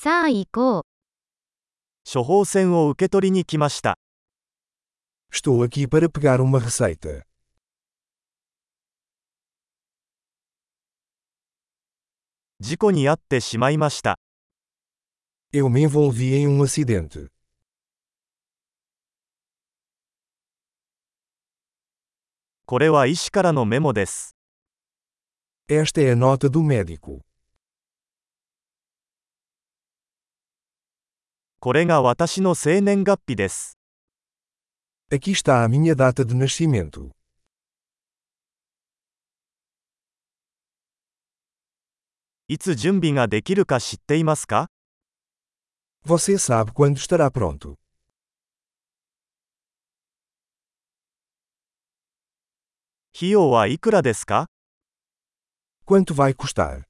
さあ行こう。 処方箋を受け取りに来ました。 Estou aqui para pegar uma receita. 事故に遭ってしまいました。 Eu me envolvi em acidente. これは医師からのメモです。 Esta é a nota do médico. これが私の生年月日です。 Aqui está a minha data de nascimento. いつ準備ができるか知っていますか？ Você sabe quando estará pronto. 費用はいくらですか？ Quanto vai custar?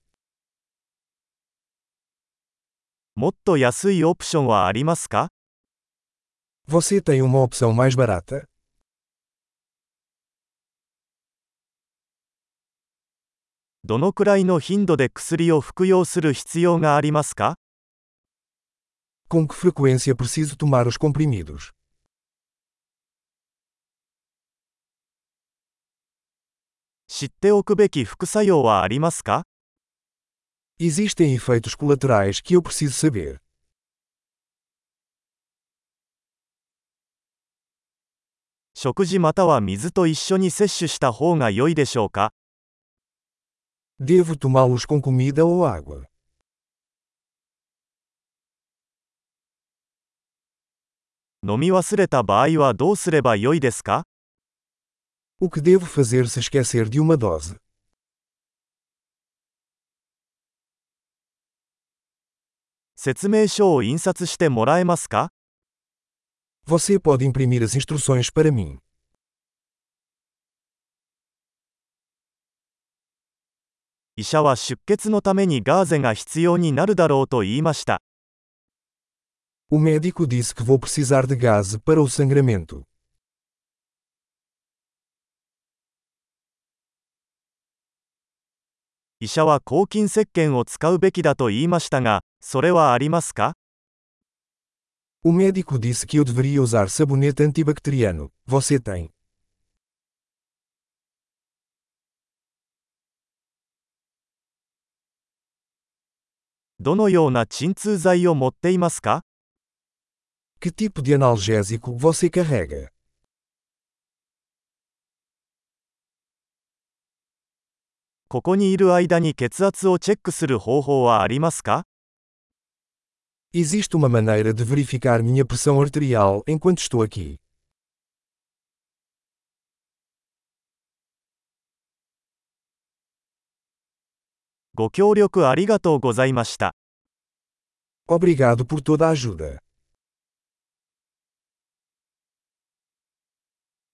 もっと安いオプションはありますか？ Você tem uma opção mais barata? どのくらいの頻度で薬を服用する必要がありますか？ Com que frequência preciso tomar os comprimidos? 知っておくべき副作用はありますか？ Existem efeitos colaterais que eu preciso saber. 食事または水と一緒に摂取した方が良いでしょうか？ Devo tomá-los com comida ou água? 飲み忘れた場合はどうすれば良いですか？ O que devo fazer se esquecer de uma dose? 説明書を印刷してもらえますか？ Você pode imprimir as instruções para mim. 医者は出血のためにガーゼが必要になるだろうと言いました。 O médico disse que vou precisar de gaze para o sangramento. 医者は抗菌石鹸を使うべきだと言いましたが、それはありますか？ O médico disse que eu deveria usar sabonete antibacteriano. Você tem? どのような鎮痛剤を持っていますか？ Que tipo de analgésico você carrega? ここにいる間に血圧をチェックする方法はありますか？ Existe uma maneira de verificar minha pressão arterial enquanto estou aqui. ご協力ありがとうございました。 Obrigado por toda a ajuda.